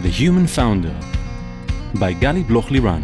The Human Founder by Gali Bloch-Liran.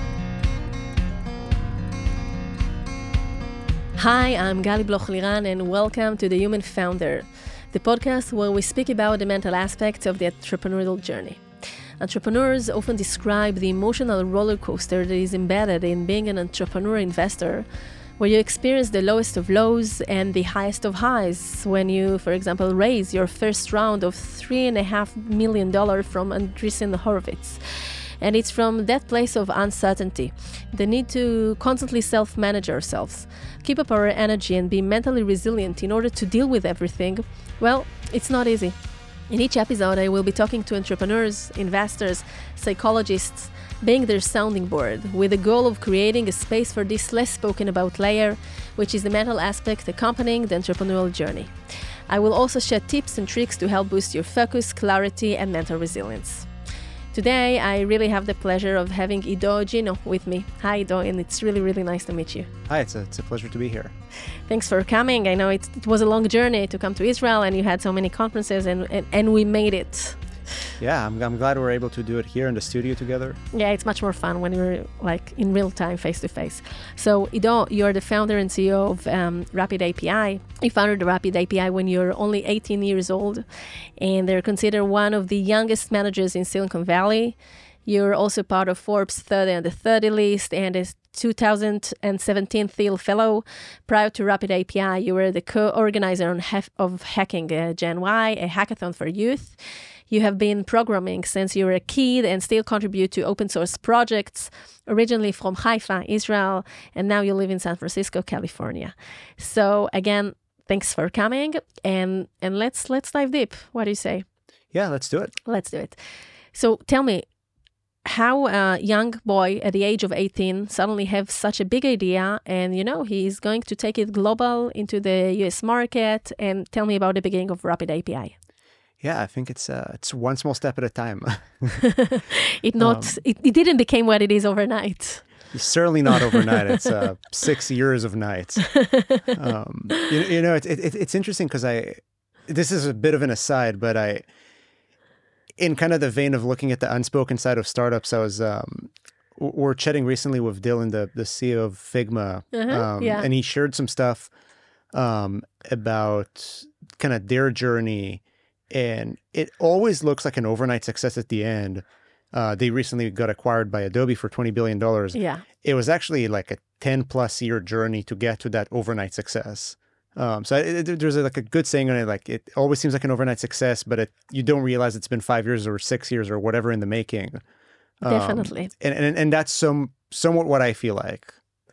Hi, I'm Gali Bloch-Liran and welcome to The Human Founder, the podcast where we speak about the mental aspects of the entrepreneurial journey. Entrepreneurs often describe the emotional roller coaster that is embedded in being an entrepreneur investor, where you experience the lowest of lows and the highest of highs when you, for example, raise your first round of $3.5 million from Andreessen Horowitz. And it's from that place of uncertainty, the need to constantly self-manage ourselves, keep up our energy and be mentally resilient in order to deal with everything. Well, it's not easy. In each episode, I will be talking to entrepreneurs, investors, psychologists, being their sounding board, with the goal of creating a space for this less spoken about layer, which is the mental aspect accompanying the entrepreneurial journey. I will also share tips and tricks to help boost your focus, clarity, and mental resilience. Today, I really have the pleasure of having Ido Gino with me. Hi, Ido, and it's really, really nice to meet you. Hi, it's a pleasure to be here. Thanks for coming. I know it was a long journey to come to Israel, and you had so many conferences, and we made it. Yeah, I'm glad we're able to do it here in the studio together. Yeah, it's much more fun when you're like in real time, face to face. So, Ido, you're the founder and CEO of Rapid API. You founded Rapid API when you're only 18 years old, and they're considered one of the youngest managers in Silicon Valley. You're also part of Forbes 30 under 30 list and a 2017 Thiel Fellow. Prior to Rapid API, you were the co-organizer of Hacking Gen Y, a hackathon for youth. You have been programming since you were a kid and still contribute to open source projects, originally from Haifa, Israel, and now you live in San Francisco, California. So again, thanks for coming, and let's dive deep. What do you say? Yeah, let's do it. Let's do it. So tell me, how a young boy at the age of 18 suddenly have such a big idea, and he's going to take it global into the US market, and tell me about the beginning of Rapid API. Yeah, I think it's one small step at a time. It didn't become what it is overnight. Certainly not overnight. It's 6 years of nights. It's interesting because this is a bit of an aside, but in kind of the vein of looking at the unspoken side of startups, I was we're chatting recently with Dylan, the CEO of Figma, and he shared some stuff about kind of their journey. And it always looks like an overnight success at the end. They recently got acquired by Adobe for $20 billion. Yeah. It was actually like a 10+ year journey to get to that overnight success. There's a good saying on it, like it always seems like an overnight success, but you don't realize it's been 5 years or 6 years or whatever in the making. Definitely. And that's somewhat what I feel like.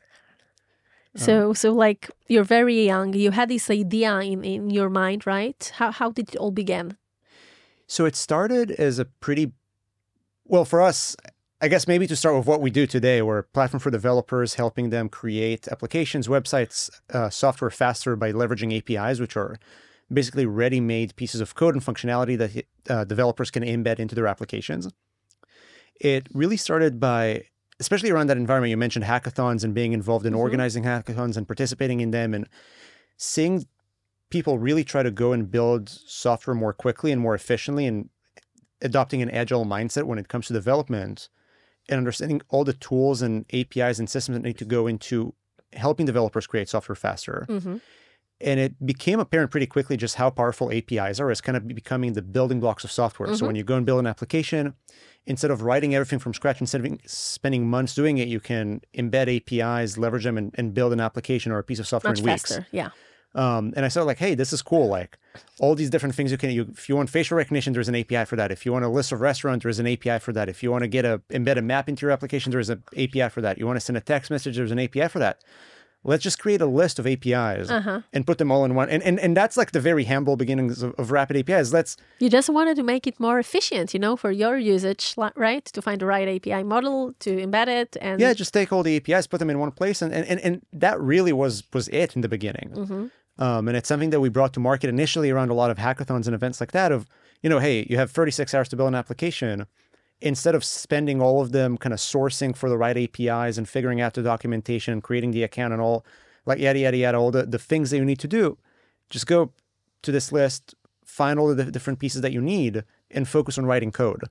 So like you're very young, you had this idea in your mind, right? How did it all begin? So it started as for us, I guess maybe to start with what we do today, we're a platform for developers, helping them create applications, websites, software faster by leveraging APIs, which are basically ready-made pieces of code and functionality that developers can embed into their applications. It really started by, especially around that environment, you mentioned hackathons and being involved in organizing hackathons and participating in them and seeing people really try to go and build software more quickly and more efficiently and adopting an agile mindset when it comes to development and understanding all the tools and APIs and systems that need to go into helping developers create software faster. Mm-hmm. And it became apparent pretty quickly just how powerful APIs are as kind of becoming the building blocks of software. Mm-hmm. So when you go and build an application, instead of writing everything from scratch, instead of spending months doing it, you can embed APIs, leverage them, and build an application or a piece of software in weeks. Faster, yeah. And I started like, hey, this is cool. Like all these different things if you want facial recognition, there's an API for that. If you want a list of restaurants, there's an API for that. If you want to embed a map into your application, there's an API for that. You want to send a text message, there's an API for that. Let's just create a list of APIs and put them all in one. And that's like the very humble beginnings of Rapid APIs. You just wanted to make it more efficient, for your usage, right? To find the right API model, to embed it. And yeah, just take all the APIs, put them in one place. And that really was it in the beginning. Mm-hmm. And it's something that we brought to market initially around a lot of hackathons and events like that of, hey, you have 36 hours to build an application. Instead of spending all of them kind of sourcing for the right APIs and figuring out the documentation, creating the account and all, like yada, yada, yada, all the things that you need to do, just go to this list, find all the different pieces that you need and focus on writing code.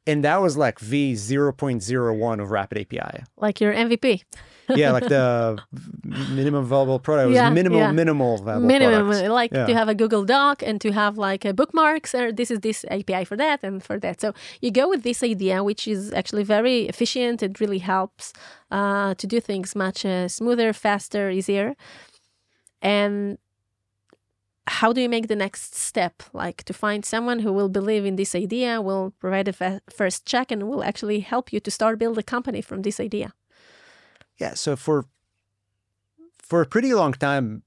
And that was like V0.01 of Rapid API. Like your MVP. Yeah, like the minimum viable product. It was minimal viable products. Like to have a Google Doc and to have like a bookmarks, or this is this API for that and for that. So you go with this idea, which is actually very efficient. It really helps to do things much smoother, faster, easier. And how do you make the next step? Like to find someone who will believe in this idea, will provide a first check, and will actually help you to start build a company from this idea. Yeah, so for a pretty long time,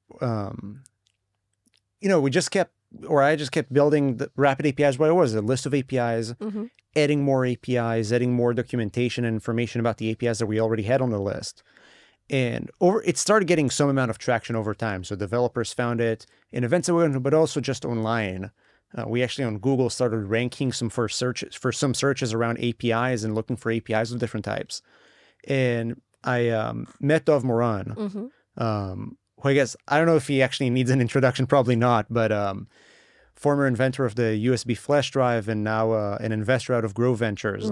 I just kept building the Rapid APIs. What it was, a list of APIs, adding more APIs, adding more documentation and information about the APIs that we already had on the list. And it started getting some amount of traction over time. So developers found it in events that we went to, but also just online. We actually on Google started ranking some searches around APIs and looking for APIs of different types. And I met Dov Moran, who I guess, I don't know if he actually needs an introduction, probably not, but former inventor of the USB flash drive and now an investor out of Grow Ventures.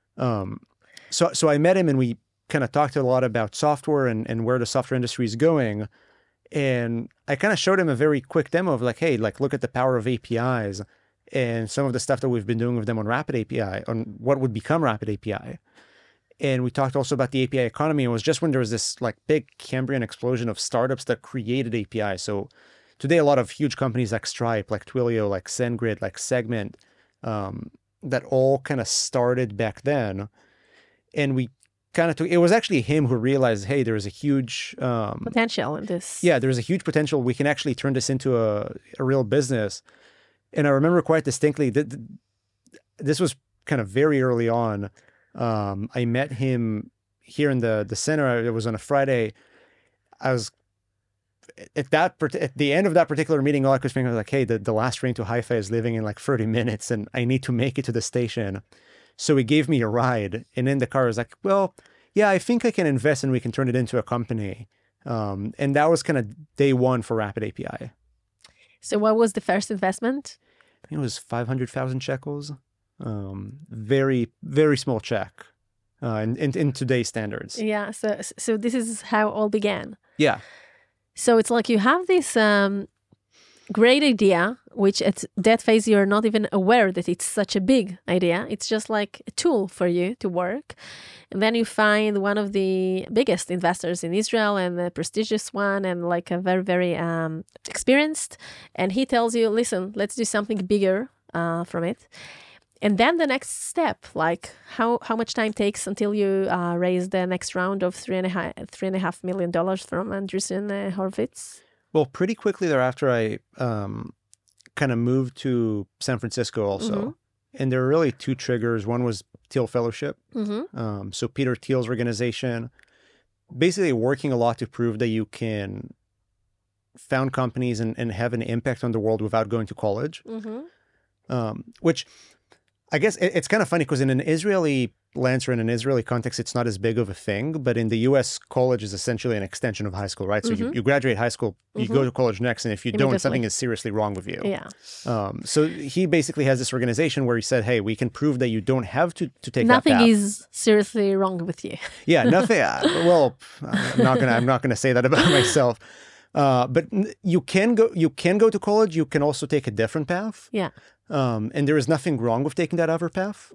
So I met him and we kind of talked a lot about software and where the software industry is going. And I kind of showed him a very quick demo of like, hey, like look at the power of APIs and some of the stuff that we've been doing with them on Rapid API, on what would become Rapid API. And we talked also about the API economy. It was just when there was this like big Cambrian explosion of startups that created API. So today, a lot of huge companies like Stripe, like Twilio, like SendGrid, like Segment, that all kind of started back then. And we kind of it was actually him who realized, hey, there is a huge potential in this. Yeah, there's a huge potential. We can actually turn this into a real business. And I remember quite distinctly that this was kind of very early on. I met him here in the center. It was on a Friday. I was at the end of that particular meeting, all I could think was like, hey, the last train to Haifa is leaving in like 30 minutes and I need to make it to the station. So he gave me a ride, and in the car I was like, well, yeah, I think I can invest and we can turn it into a company. And that was kind of day one for Rapid API. So what was the first investment? I think it was 500,000 shekels. Very, very small check in today's standards. Yeah. So this is how it all began. Yeah. So it's like you have this great idea, which at that phase you're not even aware that it's such a big idea. It's just like a tool for you to work. And then you find one of the biggest investors in Israel and a prestigious one and like a very, very experienced. And he tells you, listen, let's do something bigger from it. And then the next step, like how much time takes until you raise the next round of $3.5 million from Andreessen Horowitz? Well, pretty quickly thereafter, I kind of moved to San Francisco also. And there were really two triggers. One was Thiel Fellowship. So Peter Thiel's organization, basically working a lot to prove that you can found companies and have an impact on the world without going to college. Which I guess it's kind of funny because in an Israeli lens or in an Israeli context, it's not as big of a thing. But in the U.S., college is essentially an extension of high school, right? So you graduate high school, you go to college next, and if you don't, something is seriously wrong with you. Yeah. So he basically has this organization where he said, hey, we can prove that you don't have to take nothing that path. Is seriously wrong with you. Yeah, nothing. Well, I'm not gonna say that about myself. But you can go to college. You can also take a different path. Yeah. And there is nothing wrong with taking that other path.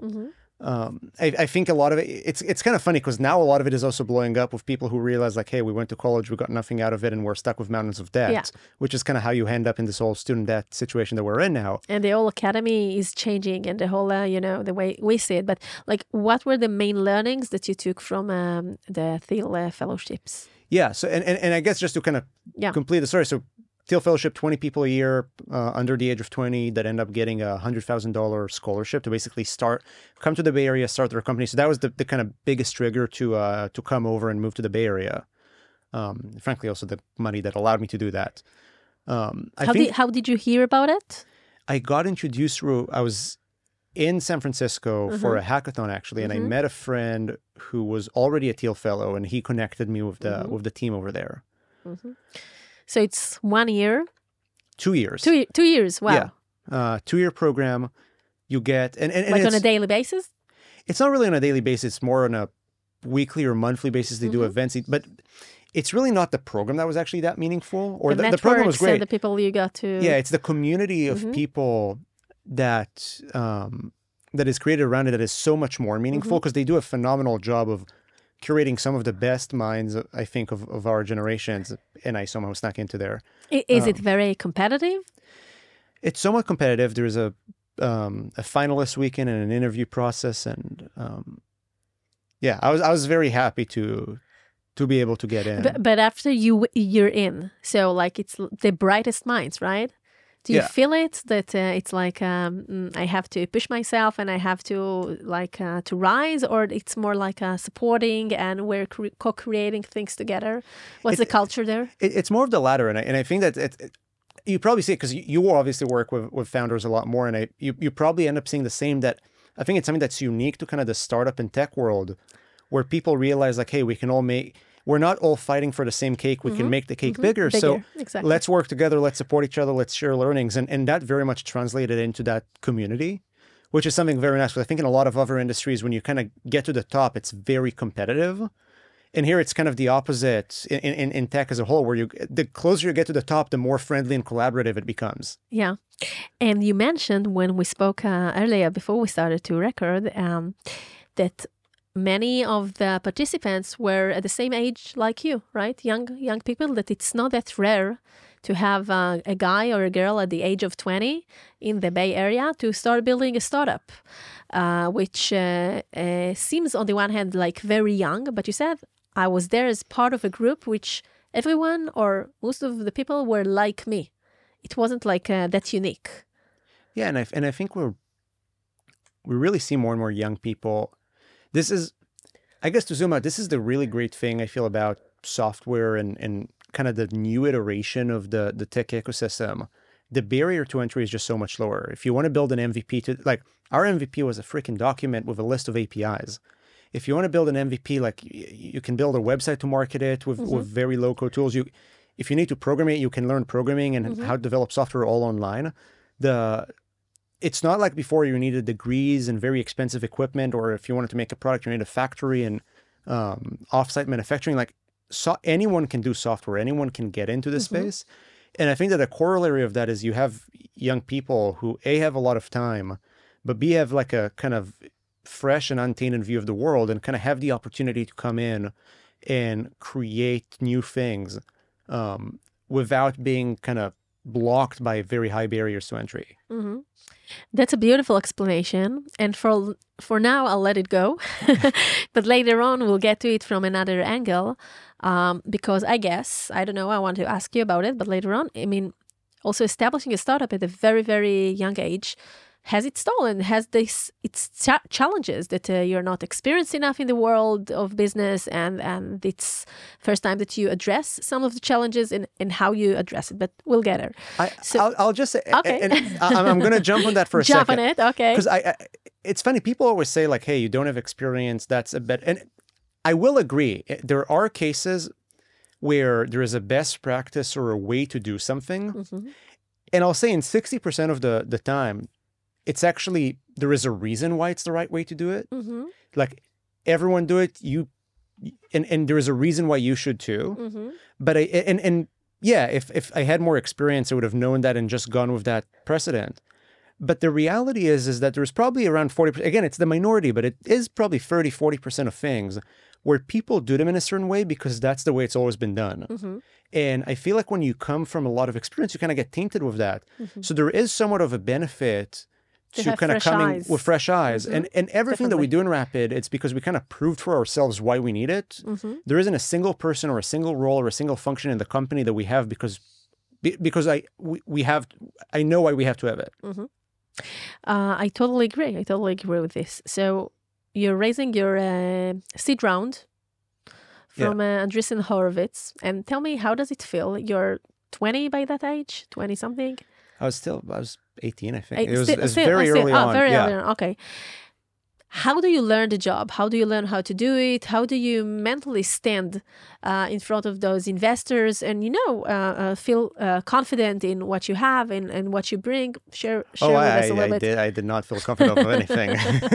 I think a lot of it's kind of funny because now a lot of it is also blowing up with people who realize like, hey, we went to college, we got nothing out of it, and we're stuck with mountains of debt, which is kind of how you end up in this whole student debt situation that we're in now. And the whole academy is changing and the whole, the way we see it. But like, what were the main learnings that you took from the Thiel fellowships? Yeah. So, and I guess just to kind of complete the story. So Thiel Fellowship, 20 people a year under the age of 20 that end up getting a $100,000 scholarship to basically come to the Bay Area, start their company. So that was the kind of biggest trigger to come over and move to the Bay Area. Frankly, also the money that allowed me to do that. How did you hear about it? I got introduced through, I was in San Francisco for a hackathon actually, and I met a friend who was already a Thiel Fellow, and he connected me with the team over there. So it's 1 year? 2 years. 2 years, wow. Yeah. 2-year program. You get... and like on a daily basis? it's not really on a daily basis. It's more on a weekly or monthly basis. They do events, but it's really not the program that was actually that meaningful. Or the program was great. The people you got to. Yeah, it's the community of people that that is created around it that is so much more meaningful because they do a phenomenal job of curating some of the best minds, I think, of our generations. And I somehow snuck into there. Is it very competitive? It's somewhat competitive. There's a finalist weekend and an interview process, and I was very happy to be able to get in. But after you're in, so like it's the brightest minds, right? Do you feel it that it's like I have to push myself and I have to to rise, or it's more like supporting and we're co-creating things together? What's the culture there? It's more of the latter, and I think that you probably see it because you will obviously work with founders a lot more, and you probably end up seeing the same. That I think it's something that's unique to kind of the startup and tech world, where people realize like, hey, we can all we're not all fighting for the same cake. We can make the cake bigger. So exactly. Let's work together. Let's support each other. Let's share learnings. And that very much translated into that community, which is something very nice. Because I think in a lot of other industries, when you kind of get to the top, it's very competitive. And here it's kind of the opposite in tech as a whole, where the closer you get to the top, the more friendly and collaborative it becomes. Yeah. And you mentioned when we spoke earlier, before we started to record, that many of the participants were at the same age like you, right? Young people, that it's not that rare to have a guy or a girl at the age of 20 in the Bay Area to start building a startup, which seems on the one hand like very young, but you said I was there as part of a group which everyone or most of the people were like me. It wasn't like that unique. Yeah, and I think we really see more and more young people. This is, I guess, to zoom out, this is the really great thing I feel about software and kind of the new iteration of the tech ecosystem. The barrier to entry is just so much lower. If you want to build an MVP, our MVP was a freaking document with a list of APIs. If you want to build an MVP, like you can build a website to market it with very low-code tools. If you need to program it, you can learn programming and how to develop software all online. It's not like before you needed degrees and very expensive equipment, or if you wanted to make a product, you need a factory and off-site manufacturing. Anyone can do software. Anyone can get into this space. And I think that a corollary of that is you have young people who A, have a lot of time, but B, have like a kind of fresh and untainted view of the world and kind of have the opportunity to come in and create new things without being kind of blocked by very high barriers to entry. That's a beautiful explanation. And for now, I'll let it go. But later on, we'll get to it from another angle. Because I guess, I don't know, I want to ask you about it, but later on, I mean, also establishing a startup at a very, very young age has its toll and has its challenges that you're not experienced enough in the world of business, and it's first time that you address some of the challenges and how you address it, but we'll get there. I'll just say, okay. And I'm going to jump on that for a second. Jump on it, okay. Because it's funny, people always say like, hey, you don't have experience, that's a bit, and I will agree. There are cases where there is a best practice or a way to do something, and I'll say in 60% of the time, it's actually, there is a reason why it's the right way to do it. Like everyone do it, and there is a reason why you should too. But if I had more experience, I would have known that and just gone with that precedent. But the reality is that there's probably around 40%, again, it's the minority, but it is probably 30-40% of things where people do them in a certain way because that's the way it's always been done. And I feel like when you come from a lot of experience, you kind of get tainted with that. So there is somewhat of a benefit to kind of coming with fresh eyes. And everything that we do in Rapid, it's because we kind of proved for ourselves why we need it. There isn't a single person or a single role or a single function in the company that we have because I know why we have to have it. I totally agree. I totally agree with this. So you're raising your seed round from Andreessen Horowitz. And tell me, how does it feel? You're 20 by that age? 20 something? I was 18, I think. It was very early on. Early on. Okay. how do you learn the job? How do you learn how to do it? How do you mentally stand in front of those investors and, feel confident in what you have and what you bring? Share with us a little bit. I did not feel confident of anything.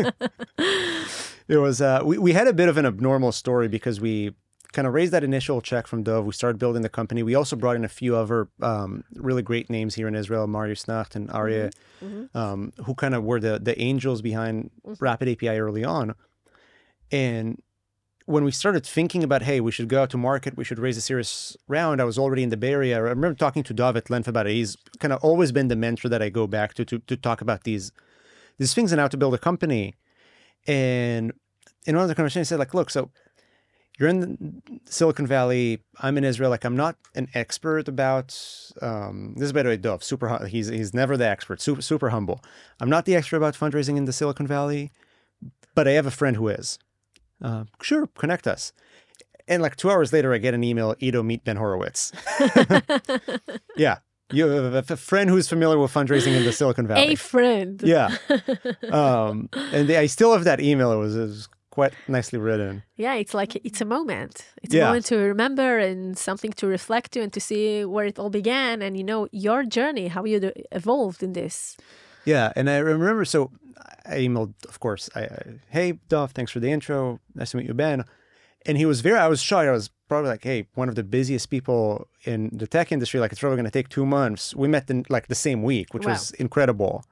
It was, we had a bit of an abnormal story because we kind of raised that initial check from Dov. We started building the company. We also brought in a few other really great names here in Israel, Marius Nacht and Aryeh, who kind of were the angels behind Rapid API early on. And when we started thinking about, hey, we should go out to market, we should raise a serious round, I was already in the Bay Area. I remember talking to Dov at length about it. He's kind of always been the mentor that I go back to talk about these things and how to build a company. And in one of the conversations, he said, like, look, so you're in Silicon Valley. I'm in Israel. Like, I'm not an expert about this is by the way, Dov. He's never the expert. Super humble. I'm not the expert about fundraising in the Silicon Valley, but I have a friend who is. Sure, connect us. And like 2 hours later, I get an email. Ido, meet Ben Horowitz. Yeah, you have a friend who's familiar with fundraising in the Silicon Valley. A friend. Yeah. And I still have that email. It was quite nicely written. Yeah, it's like, it's a moment. It's a moment to remember and something to reflect to and to see where it all began and, your journey, how you evolved in this. Yeah, and I remember, so I emailed, of course, hey, Dov, thanks for the intro. Nice to meet you, Ben. And I was shocked. I was probably like, hey, one of the busiest people in the tech industry, like it's probably going to take 2 months. We met in like the same week, which was incredible.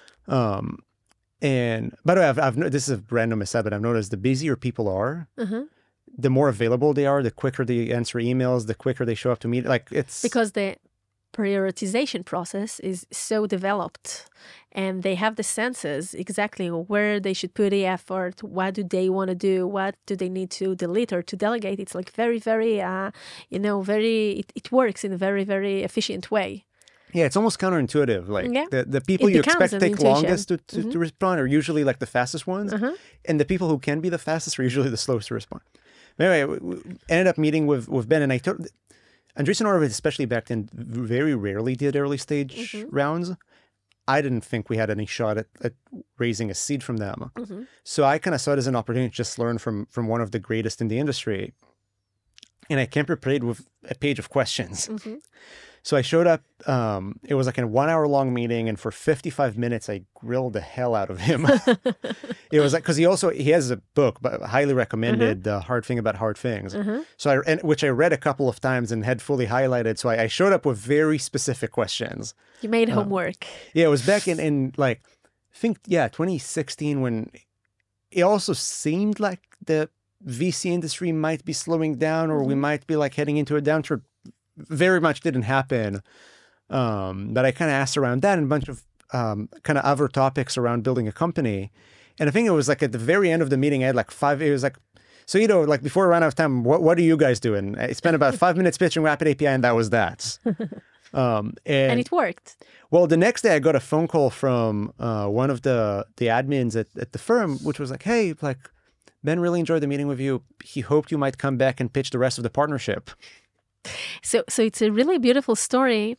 And by the way, this is a random aside, but I've noticed the busier people are, the more available they are, the quicker they answer emails, the quicker they show up to meet. Like it's because the prioritization process is so developed and they have the senses exactly where they should put the effort, what do they want to do, what do they need to delete or to delegate. It's like very, very, it works in a very, very efficient way. Yeah, it's almost counterintuitive. Like the people you expect to take longest to respond are usually like the fastest ones. And the people who can be the fastest are usually the slowest to respond. But anyway, we ended up meeting with Ben, and I told Andreessen Horowitz, especially back then, very rarely did early stage rounds. I didn't think we had any shot at raising a seed from them. So I kind of saw it as an opportunity to just learn from one of the greatest in the industry. And I came prepared with a page of questions. So I showed up, it was like a 1 hour long meeting, and for 55 minutes, I grilled the hell out of him. It was like, because he has a book, but highly recommended, The Hard Thing About Hard Things. So which I read a couple of times and had fully highlighted. So I showed up with very specific questions. You made homework. Yeah, it was back in like, I think, 2016, when it also seemed like the VC industry might be slowing down, or we might be like heading into a downturn. Very much didn't happen. But I kind of asked around that and a bunch of kind of other topics around building a company. And I think it was like at the very end of the meeting, I had like it was like, so, like before I ran out of time, what are you guys doing? I spent about 5 minutes pitching Rapid API, and that was that. And it worked. Well, the next day I got a phone call from one of the admins at the firm, which was like, hey, like, Ben really enjoyed the meeting with you. He hoped you might come back and pitch the rest of the partnership. So it's a really beautiful story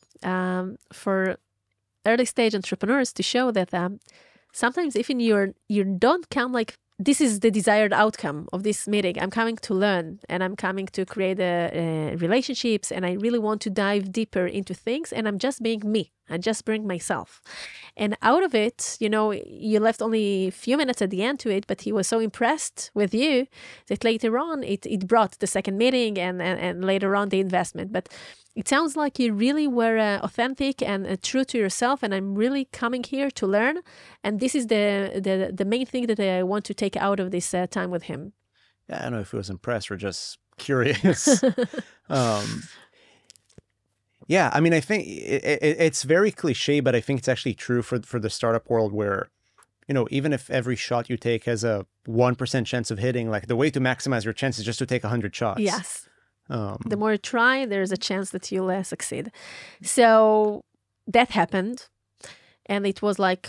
for early stage entrepreneurs to show that sometimes even you don't come like, this is the desired outcome of this meeting. I'm coming to learn and I'm coming to create relationships, and I really want to dive deeper into things, and I'm just being me. I just bring myself. And out of it, you left only a few minutes at the end to it, but he was so impressed with you that later on it brought the second meeting and later on the investment. But it sounds like you really were authentic and true to yourself, and I'm really coming here to learn. And this is the main thing that I want to take out of this time with him. Yeah, I don't know if he was impressed or just curious. Yeah, I mean, I think it's very cliche, but I think it's actually true for the startup world where, even if every shot you take has a 1% chance of hitting, like the way to maximize your chance is just to take 100 shots. Yes. The more you try, there's a chance that you'll succeed. So that happened. And it was like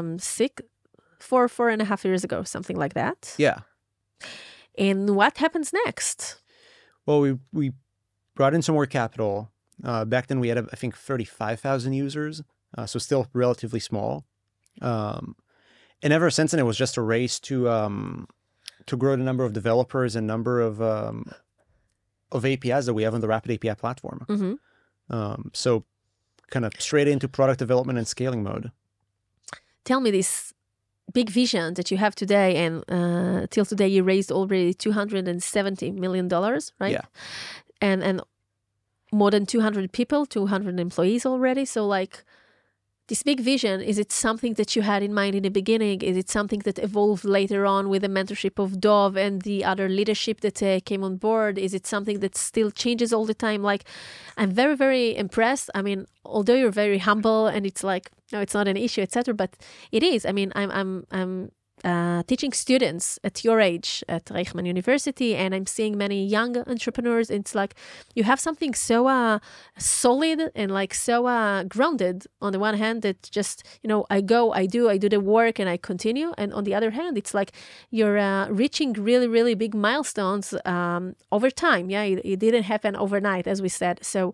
4.5 years ago, something like that. Yeah. And what happens next? Well, we brought in some more capital. Back then we had, I think, 35,000 users. So still relatively small. And ever since then, it was just a race to grow the number of developers and number of APIs that we have on the Rapid API platform. So kind of straight into product development and scaling mode. Tell me this big vision that you have today, and till today you raised already $270 million, right? Yeah. And more than 200 people, 200 employees already. So like this big vision, is it something that you had in mind in the beginning? Is it something that evolved later on with the mentorship of Dov and the other leadership that came on board? Is it something that still changes all the time? Like, I'm very, very impressed. I mean, although you're very humble and it's like, no, it's not an issue, etc. But it is. I mean, I'm teaching students at your age at Reichman University, and I'm seeing many young entrepreneurs. It's like you have something so solid and like so grounded on the one hand that just, I do the work and I continue. And on the other hand, it's like you're reaching really, really big milestones over time. Yeah, it didn't happen overnight, as we said. So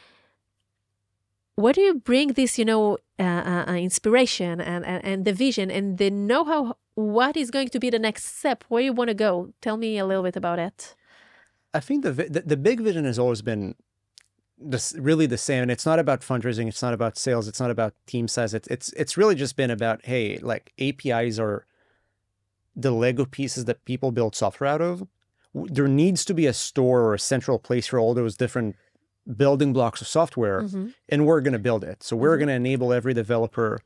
where do you bring this, inspiration and the vision and the know-how? What is going to be the next step? Where you want to go? Tell me a little bit about it. I think the big vision has always been really the same. And it's not about fundraising. It's not about sales. It's not about team size. It's really just been about, hey, like APIs are the Lego pieces that people build software out of. There needs to be a store or a central place for all those different building blocks of software, and we're going to build it. So we're going to enable every developer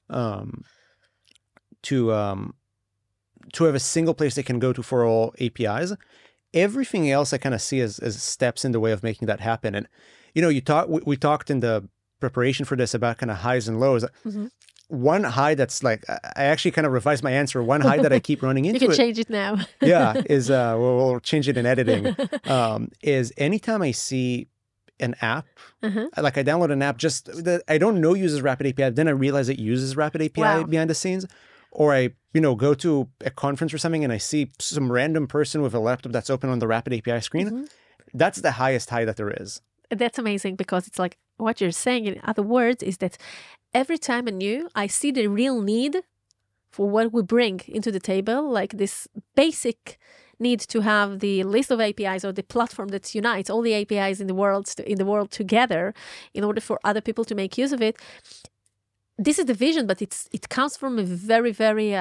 to have a single place they can go to for all APIs. Everything else I kind of see as steps in the way of making that happen. And we talked in the preparation for this about kind of highs and lows. One high that's like, I actually kind of revised my answer. One high that I keep running into. You can change it now. Yeah, is we'll change it in editing. Is anytime I see an app, like I download an app just that I don't know uses Rapid API, then I realize it uses Rapid API behind the scenes, or I go to a conference or something and I see some random person with a laptop that's open on the Rapid API screen. That's the highest high that there is. That's amazing, because it's like what you're saying in other words is that every time anew I see the real need for what we bring into the table, like this basic need to have the list of APIs or the platform that unites all the APIs in the world together in order for other people to make use of it. This is the vision, but it comes from a very, very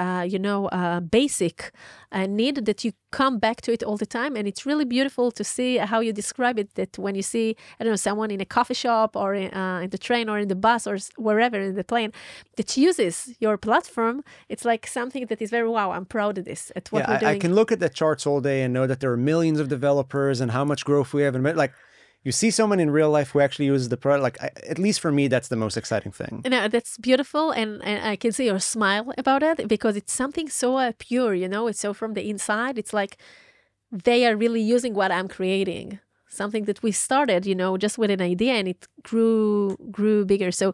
basic need that you come back to it all the time. And it's really beautiful to see how you describe it, that when you see, someone in a coffee shop or in the train or in the bus or wherever in the plane that uses your platform, it's like something that is very, wow, I'm proud of this, at what we're doing. I can look at the charts all day and know that there are millions of developers and how much growth we have. And like, you see someone in real life who actually uses the product. Like, at least for me, that's the most exciting thing. No, that's beautiful. And I can see your smile about it, because it's something so pure, it's so from the inside. It's like they are really using what I'm creating. Something that we started, just with an idea, and it grew bigger. So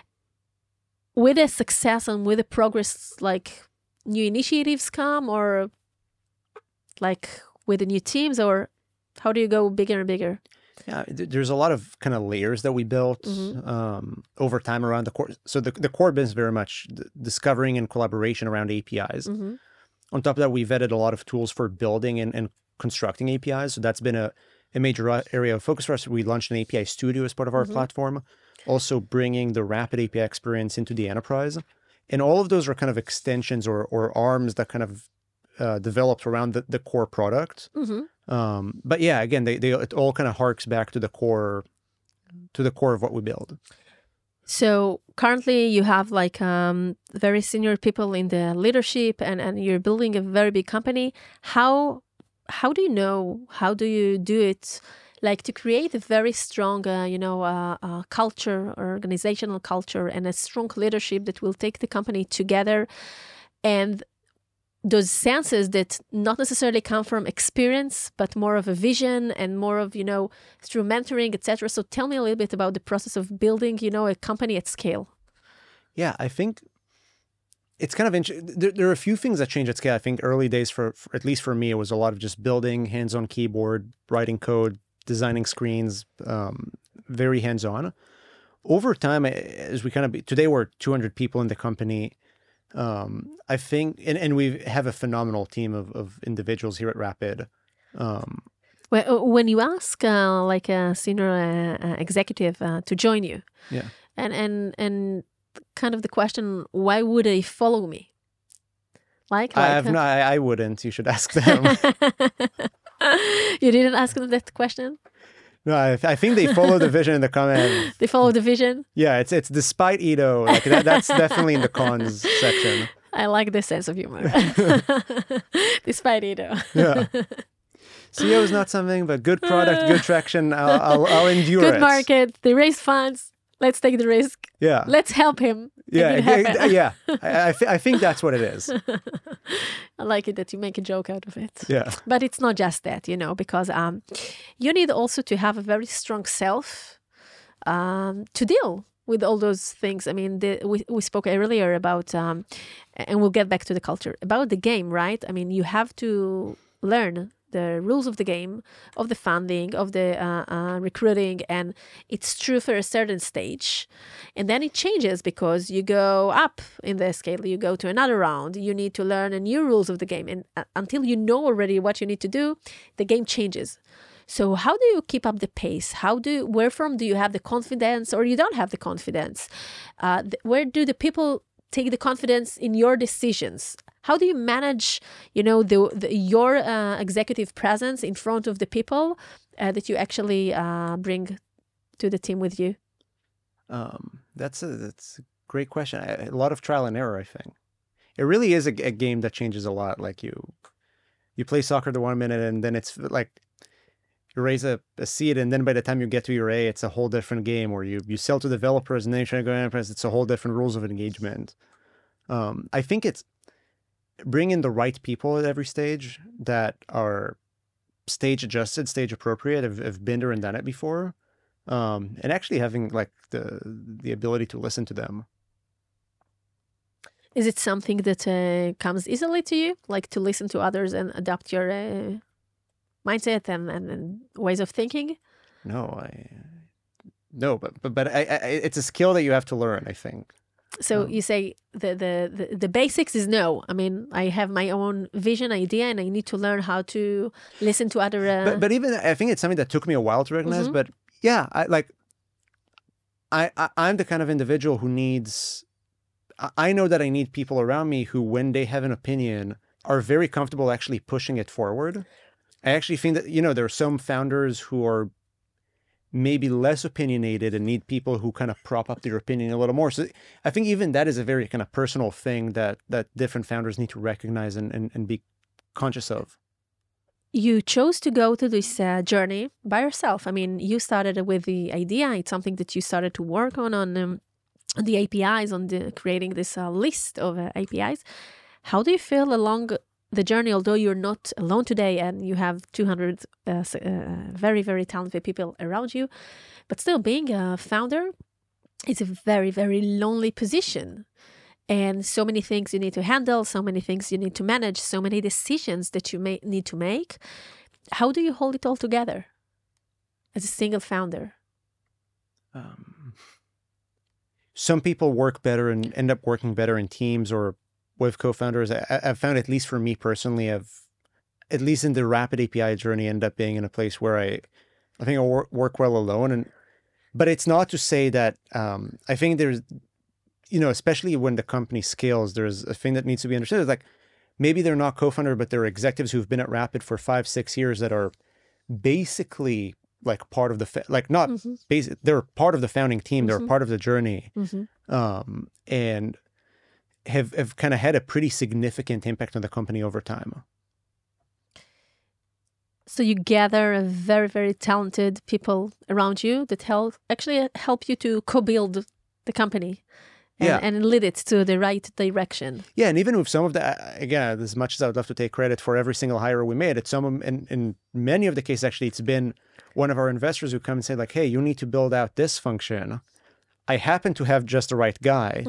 with the success and with the progress, like new initiatives come, or like with the new teams, or how do you go bigger and bigger? Yeah, there's a lot of kind of layers that we built over time around the core. So the core business very much discovering and collaboration around APIs. On top of that, we've added a lot of tools for building and constructing APIs. So that's been a major area of focus for us. We launched an API Studio as part of our platform, also bringing the Rapid API experience into the enterprise. And all of those are kind of extensions or arms that kind of developed around the core product. But yeah, again, it all kind of harks back to the core of what we build. So currently you have like very senior people in the leadership, and you're building a very big company. How do you know, how do you do it, like to create a very strong, culture, organizational culture, and a strong leadership that will take the company together, and those senses that not necessarily come from experience, but more of a vision and more of, through mentoring, etc. So tell me a little bit about the process of building, a company at scale. Yeah, I think it's kind of interesting. There are a few things that change at scale. I think early days, for at least for me, it was a lot of just building, hands-on keyboard, writing code, designing screens, very hands-on. Over time, as we today we're 200 people in the company. I think, and we have a phenomenal team of individuals here at Rapid. When you ask like a senior executive to join you, Yeah. and kind of the question, why would they follow me? I wouldn't. You should ask them. You didn't ask them that question? No, I think they follow the vision in the comment. They follow the vision? Yeah, it's despite Ido. Like that's definitely in the cons section. I like the sense of humor. Despite Ido. Yeah. CEO is not something, but good product, good traction. I'll endure good it. Market. They raise funds. Let's take the risk. Yeah. Let's help him. Yeah. Yeah. I think that's what it is. I like it that you make a joke out of it. Yeah. But it's not just that, because you need also to have a very strong self to deal with all those things. I mean, we spoke earlier about, and we'll get back to the culture, about the game, right? I mean, you have to learn the rules of the game, of the funding, of the recruiting, and it's true for a certain stage. And then it changes because you go up in the scale, you go to another round, you need to learn a new rules of the game. And until you know already what you need to do, the game changes. So how do you keep up the pace? Where from do you have the confidence, or you don't have the confidence? Where do the people take the confidence in your decisions? How do you manage, your executive presence in front of the people that you actually bring to the team with you? That's a great question. A lot of trial and error, I think. It really is a game that changes a lot. Like you play soccer the 1 minute, and then it's like you raise a seed, and then by the time you get to your A, it's a whole different game. Or you sell to developers, and then you try to go to enterprise. It's a whole different rules of engagement. I think it's bring in the right people at every stage that are stage adjusted, stage appropriate, have been there and done it before, and actually having like the ability to listen to them. Is it something that comes easily to you, like to listen to others and adapt your mindset and ways of thinking? No, but it's a skill that you have to learn, I think. So you say the basics is no. I mean, I have my own vision, idea, and I need to learn how to listen to other. But even I think it's something that took me a while to recognize. Mm-hmm. But yeah, I'm the kind of individual who needs. I know that I need people around me who, when they have an opinion, are very comfortable actually pushing it forward. I actually think that there are some founders who are maybe less opinionated and need people who kind of prop up their opinion a little more. So I think even that is a very kind of personal thing that different founders need to recognize and be conscious of. You chose to go to this journey by yourself. I mean, you started with the idea. It's something that you started to work on the APIs, creating this list of APIs. How do you feel along the journey, although you're not alone today and you have 200 very, very talented people around you, but still being a founder is a very, very lonely position. And so many things you need to handle, so many things you need to manage, so many decisions that you may need to make. How do you hold it all together as a single founder? Some people work better and end up working better in teams or with co-founders. I've found, at least for me personally, at least in the Rapid API journey, end up being in a place where I think I work well alone. But it's not to say that I think there's, especially when the company scales, there's a thing that needs to be understood. It's like maybe they're not co-founder, but they're executives who've been at Rapid for 5-6 years that are basically like part of the they're part of the founding team. They're part of the journey, and have kind of had a pretty significant impact on the company over time. So you gather a very, very talented people around you that help you to co-build the company and lead it to the right direction. Yeah, and even with some of the, again, as much as I would love to take credit for every single hire we made, in many of the cases, actually, it's been one of our investors who come and say like, hey, you need to build out this function. I happen to have just the right guy.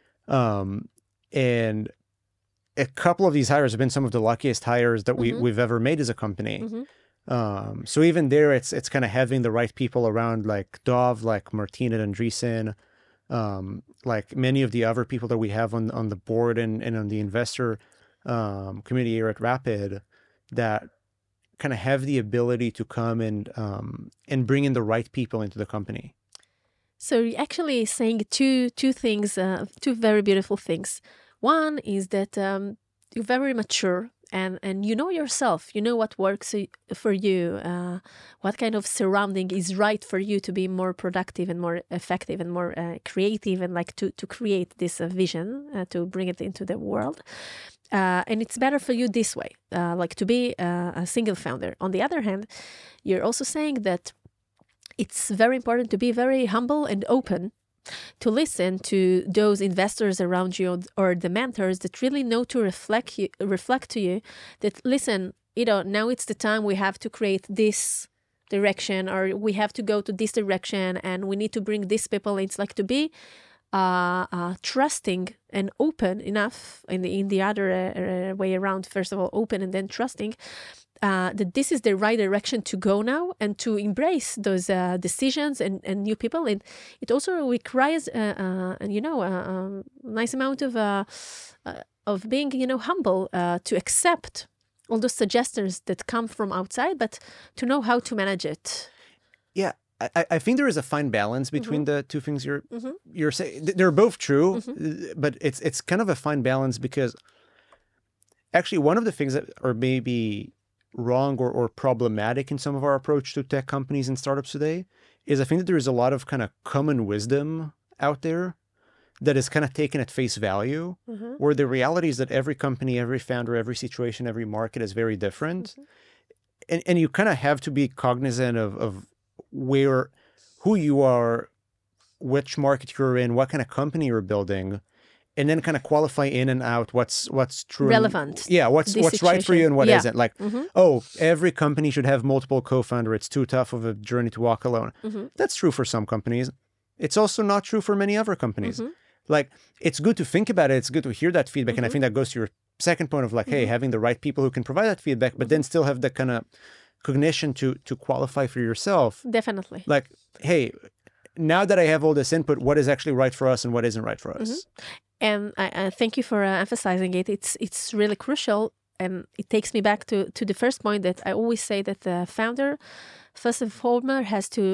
And a couple of these hires have been some of the luckiest hires that we've ever made as a company. So even there, it's kind of having the right people around, like Dov, like Martina and Andreessen, like many of the other people that we have on the board and on the investor community here at Rapid, that kind of have the ability to come and bring in the right people into the company. So you're actually saying two things, two very beautiful things. One is that you're very mature and you know yourself. You know what works for you, what kind of surrounding is right for you to be more productive and more effective and more creative, and like to create this vision, to bring it into the world. And it's better for you this way, like to be a single founder. On the other hand, you're also saying that it's very important to be very humble and open, to listen to those investors around you or the mentors that really know to reflect to you that, listen, now it's the time we have to create this direction, or we have to go to this direction, and we need to bring these people. It's like to be trusting and open enough in the other way around. First of all, open and then trusting. That this is the right direction to go now, and to embrace those decisions and new people. And it also requires, a nice amount of being, humble, to accept all those suggestions that come from outside, but to know how to manage it. Yeah, I think there is a fine balance between the two things you're saying. They're both true, but it's kind of a fine balance, because actually one of the things that are maybe wrong or problematic in some of our approach to tech companies and startups today is I think that there is a lot of kind of common wisdom out there that is kind of taken at face value, where the reality is that every company, every founder, every situation, every market is very different. And you kind of have to be cognizant of who you are, which market you're in, what kind of company you're building, and then kind of qualify in and out what's true, relevant. What's right for you and what isn't. Like, every company should have multiple co-founders. It's too tough of a journey to walk alone. That's true for some companies. It's also not true for many other companies. Like, it's good to think about it. It's good to hear that feedback. And I think that goes to your second point of like, hey, having the right people who can provide that feedback, but then still have the kind of cognition to qualify for yourself. Definitely. Like, hey, now that I have all this input, what is actually right for us and what isn't right for us? And I thank you for emphasizing it. It's really crucial, and it takes me back to the first point that I always say, that the founder, first and foremost, has to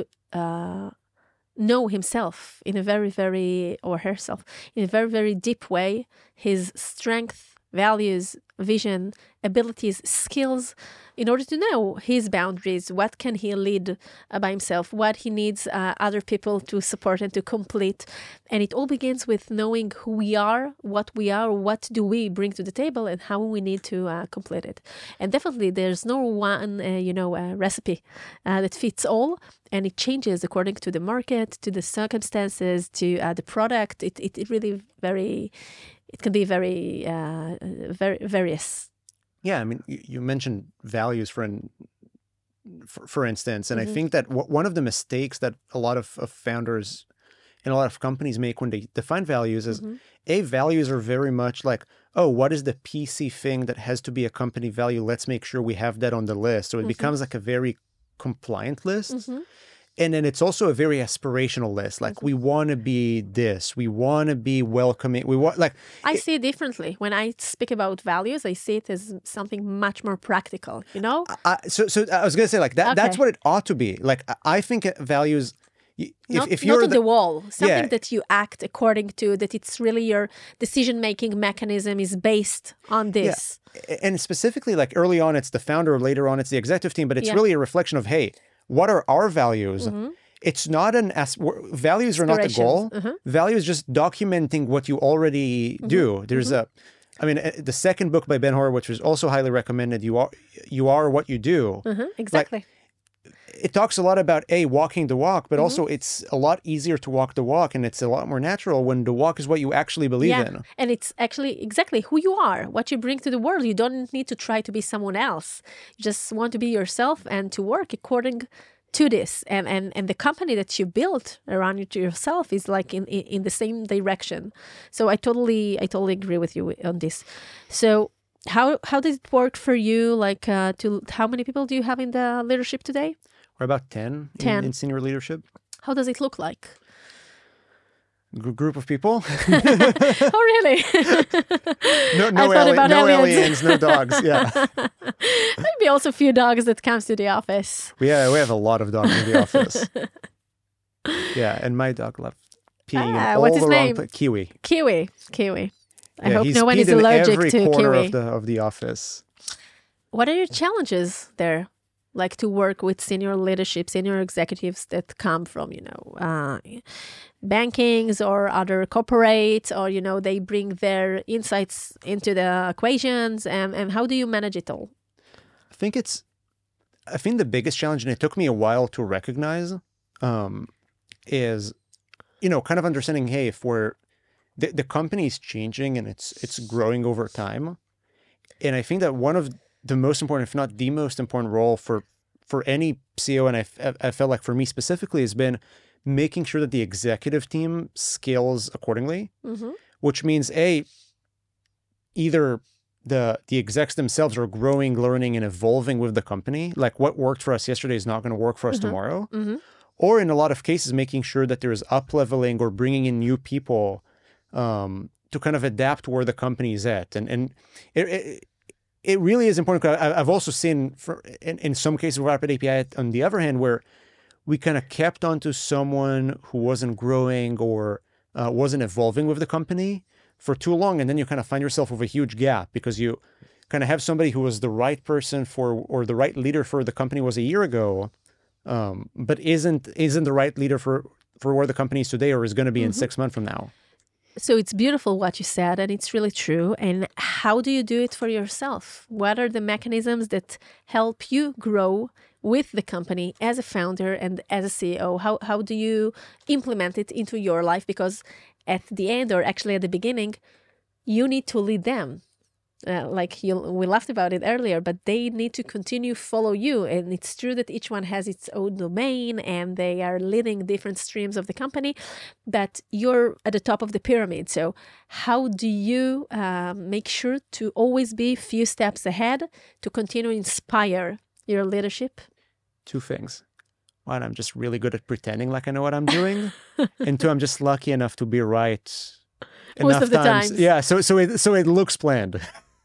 know himself in a very, very, or herself, in a very, very deep way, his strength, values, vision, abilities, skills, in order to know his boundaries, what can he lead by himself, what he needs other people to support and to complete. And it all begins with knowing who we are, what do we bring to the table, and how we need to complete it. And definitely there's no one, recipe that fits all, and it changes according to the market, to the circumstances, to the product. It really it can be very various. Yeah, I mean, you mentioned values for instance, and I think that one of the mistakes that a lot of founders and a lot of companies make when they define values is, values are very much like, oh, what is the PC thing that has to be a company value? Let's make sure we have that on the list. So it becomes like a very compliant list. And then it's also a very aspirational list. Like, we want to be this. We want to be welcoming. I see it differently. When I speak about values, I see it as something much more practical, So I was going to say, like, that. Okay. That's what it ought to be. Like, I think values, if you're not on the wall, something that you act according to, that it's really your decision-making mechanism is based on this. Yeah. And specifically, like, early on, it's the founder, later on, it's the executive team, but it's really a reflection of, hey, what are our values? It's not values are not the goal. Value is just documenting what you already do. There's the second book by Ben Horowitz, which is also highly recommended. You are what you do. Exactly. It talks a lot about walking the walk, but also it's a lot easier to walk the walk, and it's a lot more natural when the walk is what you actually believe in. And it's actually exactly who you are, what you bring to the world. You don't need to try to be someone else. You just want to be yourself and to work according to this. And the company that you built around yourself is like in the same direction. So I totally agree with you on this. So how does it work for you? Like, how many people do you have in the leadership today? We're about 10 in senior leadership. How does it look like? group of people. Oh, really? No aliens, no dogs. Yeah. Maybe also a few dogs that comes to the office. Yeah, we have a lot of dogs in the office. Yeah, and my dog loved peeing in all what's his the wrong name? Kiwi. Kiwi. I hope he's no one is peed in allergic every to corner kiwi. of the office. What are your challenges there? Like to work with senior leadership, senior executives that come from, bankings or other corporates, or, they bring their insights into the equations. And how do you manage it all? I think the biggest challenge, and it took me a while to recognize, is, kind of understanding, hey, if the company is changing and it's growing over time. And I think that one of the most important, if not the most important role for any CEO, and I felt like for me specifically, has been making sure that the executive team scales accordingly, which means either the execs themselves are growing, learning, and evolving with the company. Like what worked for us yesterday is not going to work for us tomorrow. Or in a lot of cases, making sure that there's up-leveling or bringing in new people to kind of adapt where the company is at. And it really is important. I've also seen in some cases with Rapid API, on the other hand, where we kind of kept onto someone who wasn't growing or wasn't evolving with the company for too long. And then you kind of find yourself with a huge gap because you kind of have somebody who was the right person or the right leader for the company was a year ago, but isn't the right leader for where the company is today or is going to be in 6 months from now. So it's beautiful what you said, and it's really true. And how do you do it for yourself? What are the mechanisms that help you grow with the company as a founder and as a CEO? How do you implement it into your life? Because at the end, or actually at the beginning, you need to lead them. We laughed about it earlier, but they need to continue follow you. And it's true that each one has its own domain and they are leading different streams of the company, but you're at the top of the pyramid. So how do you make sure to always be a few steps ahead to continue to inspire your leadership? Two things. One, I'm just really good at pretending like I know what I'm doing. And two, I'm just lucky enough to be right most of the times. times. Yeah, so it looks planned.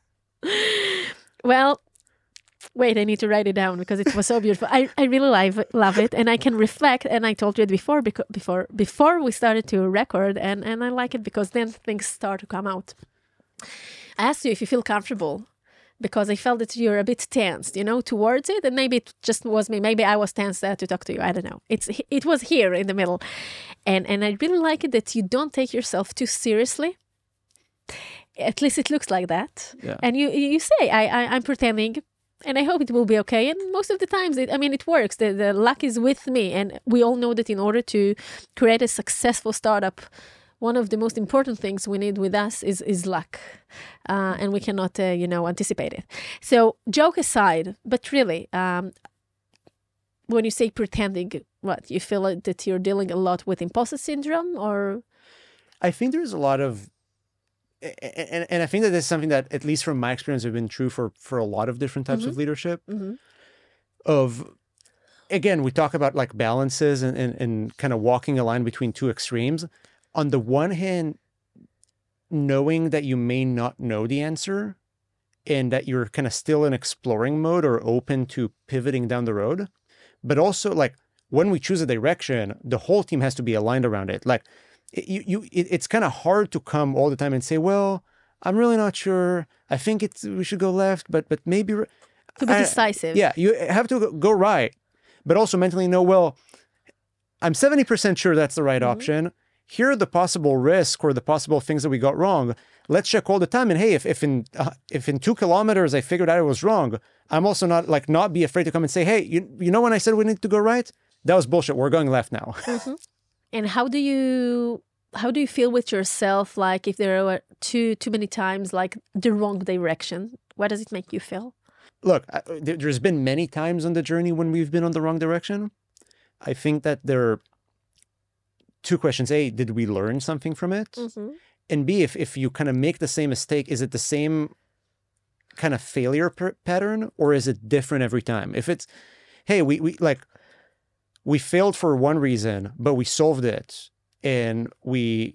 Well, wait, I need to write it down because it was so beautiful. I really love it, and I can reflect. And I told you it before we started to record, and I like it because then things start to come out. I asked you if you feel comfortable because I felt that you're a bit tensed, towards it, and maybe it just was me. Maybe I was tense to talk to you. I don't know. It was here in the middle, and I really like it that you don't take yourself too seriously. At least it looks like that. Yeah. And you say, I'm pretending, and I hope it will be okay. And most of the times, it works. The luck is with me. And we all know that in order to create a successful startup, one of the most important things we need with us is luck. And we cannot, anticipate it. So joke aside, but really, when you say pretending, what, you feel like that you're dealing a lot with imposter syndrome or? I think there's a lot of, and I think that this is something that, at least from my experience, has been true for a lot of different types of leadership. Again, we talk about like balances and kind of walking a line between two extremes. On the one hand, knowing that you may not know the answer and that you're kind of still in exploring mode or open to pivoting down the road. But also, like, when we choose a direction, the whole team has to be aligned around it. Like, it's kind of hard to come all the time and say, well, I'm really not sure. I think we should go left, but maybe to be decisive. Yeah, you have to go right, but also mentally know, well, I'm 70% sure that's the right option. Here are the possible risks or the possible things that we got wrong. Let's check all the time. And hey, if in 2 kilometers I figured out it was wrong, I'm also not be afraid to come and say, hey, you know when I said we need to go right? That was bullshit. We're going left now. And how do you feel with yourself? Like if there are too many times like the wrong direction, what does it make you feel? Look, there's been many times on the journey when we've been on the wrong direction. I think that there are two questions. A, did we learn something from it? And B, if you kind of make the same mistake, is it the same kind of failure pattern or is it different every time? If it's, hey, we failed for one reason, but we solved it and we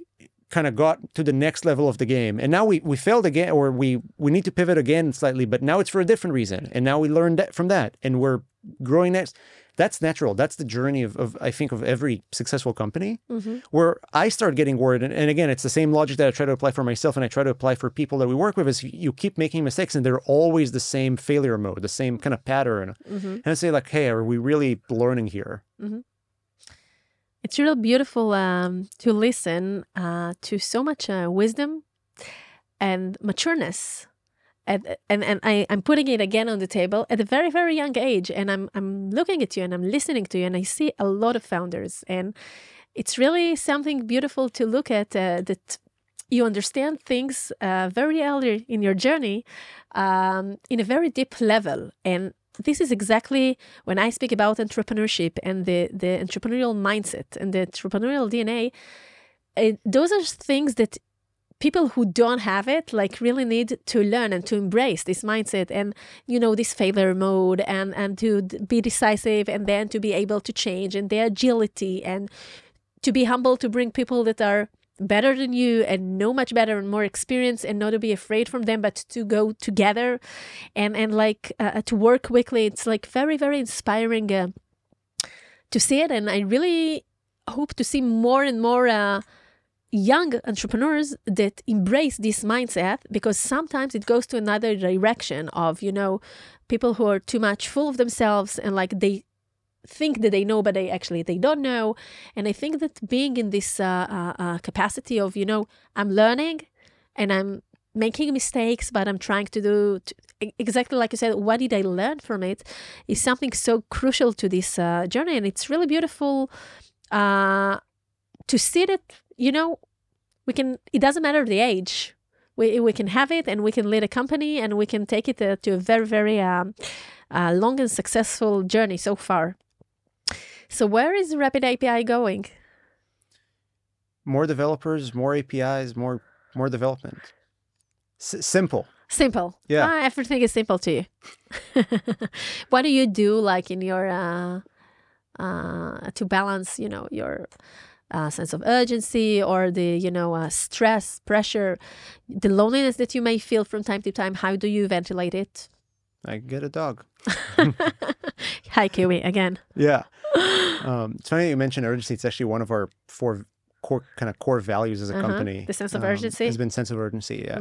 kind of got to the next level of the game. And now we failed again, or we need to pivot again slightly, but now it's for a different reason. And now we learned that from that, and we're growing next. That's natural. That's the journey of I think, of every successful company. Where I start getting worried. And again, it's the same logic that I try to apply for myself and I try to apply for people that we work with, is you keep making mistakes and they're always the same failure mode, the same kind of pattern. And I say like, hey, are we really learning here? It's really beautiful to listen to so much wisdom and matureness. And I'm putting it again on the table at a very, very young age. And I'm looking at you and I'm listening to you and I see a lot of founders. And it's really something beautiful to look at, that you understand things very early in your journey in a very deep level. And this is exactly when I speak about entrepreneurship and the entrepreneurial mindset and the entrepreneurial DNA. Those are things that people who don't have it, like, really need to learn and to embrace this mindset and, this failure mode and to be decisive and then to be able to change, and the agility and to be humble, to bring people that are better than you and know much better and more experience, and not to be afraid from them, but to go together and to work quickly. It's like very, very inspiring to see it. And I really hope to see more and more young entrepreneurs that embrace this mindset, because sometimes it goes to another direction of, people who are too much full of themselves and like they think that they know, but they don't know. And I think that being in this capacity of, I'm learning and I'm making mistakes, but I'm trying to do exactly like you said, what did I learn from it, is something so crucial to this journey. And it's really beautiful to see that, it doesn't matter the age. We can have it and we can lead a company and we can take it to a very, very long and successful journey so far. So where is Rapid API going? More developers, more APIs, more development. Simple. Simple. Yeah. Everything is simple to you. What do you do, like, in your to balance, your sense of urgency or the, stress, pressure, the loneliness that you may feel from time to time? How do you ventilate it? I get a dog. Hi, Kiwi, again. Yeah. It's funny you mentioned urgency. It's actually one of our 4 core values as a company. The sense of urgency? Has been sense of urgency, yeah.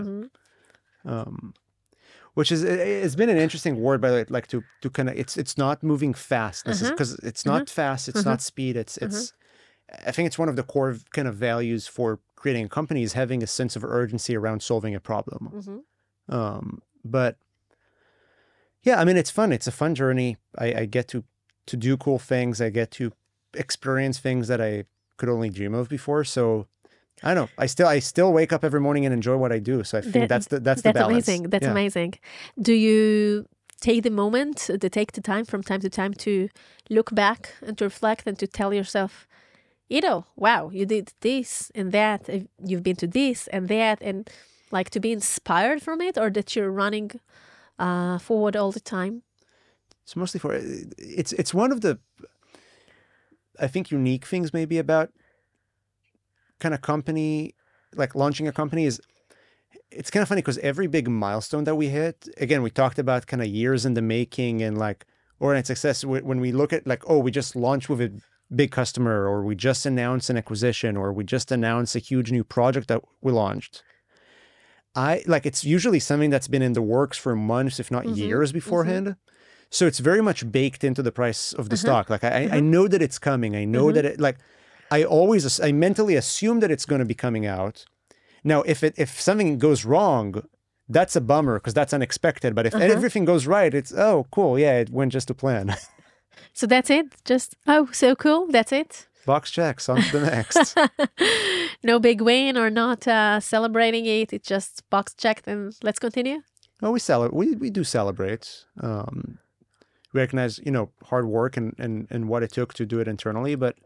Which is, it's been an interesting word, by the way, like to kind of, it's not moving fast. This is because it's not fast, it's not speed, it's I think it's one of the core kind of values for creating a company, is having a sense of urgency around solving a problem. But yeah, I mean, it's fun. It's a fun journey. I get to do cool things. I get to experience things that I could only dream of before. So I don't know. I still wake up every morning and enjoy what I do. So I think that's the balance. Amazing. That's amazing. Do you take the time from time to time to look back and to reflect and to tell yourself, wow, you did this and that, you've been to this and that, and like to be inspired from it, or that you're running forward all the time? It's mostly it's one of the, I think, unique things maybe about kind of company, like launching a company, is it's kind of funny because every big milestone that we hit, again, we talked about kind of years in the making and like overnight success. When we look at like, oh, we just launched with a big customer, or we just announced an acquisition, or we just announced a huge new project that we launched. It's usually something that's been in the works for months, if not years beforehand. So it's very much baked into the price of the stock. Like I know that it's coming. I know that it, like, I mentally assume that it's going to be coming out. Now, if something goes wrong, that's a bummer because that's unexpected. But if everything goes right, it's, oh, cool. Yeah, it went just to plan. So that's it? Just, oh, so cool. That's it? Box checks, on to the next. No big win or not celebrating it. It's just box checked and let's continue? Oh, we do celebrate. We recognize, hard work and what it took to do it internally. But,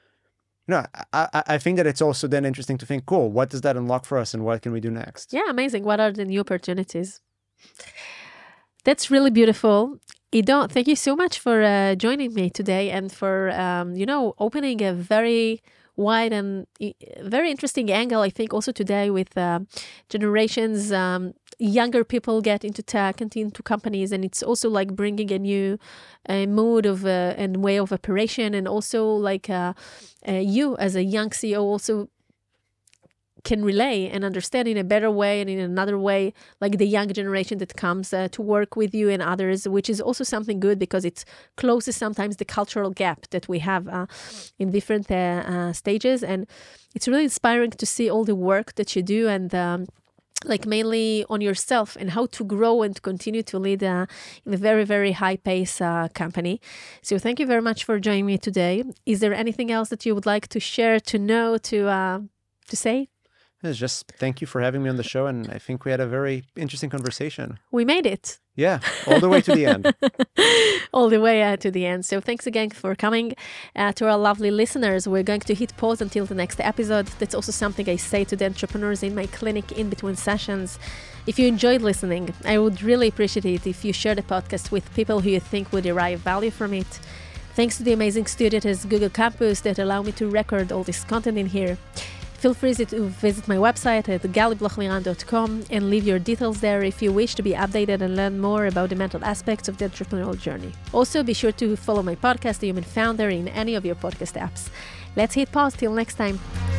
I think that it's also then interesting to think, cool, what does that unlock for us and what can we do next? Yeah, amazing. What are the new opportunities? That's really beautiful. Ido, thank you so much for joining me today and for, opening a very wide and very interesting angle, I think, also today with generations, younger people get into tech and into companies, and it's also like bringing a new mood of and way of operation, and also like you as a young CEO also can relay and understand in a better way and in another way, like the young generation that comes to work with you and others, which is also something good because it closes sometimes the cultural gap that we have in different stages. And it's really inspiring to see all the work that you do and like mainly on yourself and how to grow and to continue to lead in a very, very high pace company. So thank you very much for joining me today. Is there anything else that you would like to share, to know, to say? It's just thank you for having me on the show, and I think we had a very interesting conversation. We made it. Yeah, all the way to the end. All the way to the end. So thanks again for coming to our lovely listeners. We're going to hit pause until the next episode. That's also something I say to the entrepreneurs in my clinic in between sessions. If you enjoyed listening, I would really appreciate it if you share the podcast with people who you think will derive value from it. Thanks to the amazing studios at Google Campus that allow me to record all this content in here. Feel free to visit my website at galiblochliran.com and leave your details there if you wish to be updated and learn more about the mental aspects of the entrepreneurial journey. Also, be sure to follow my podcast, The Human Founder, in any of your podcast apps. Let's hit pause till next time.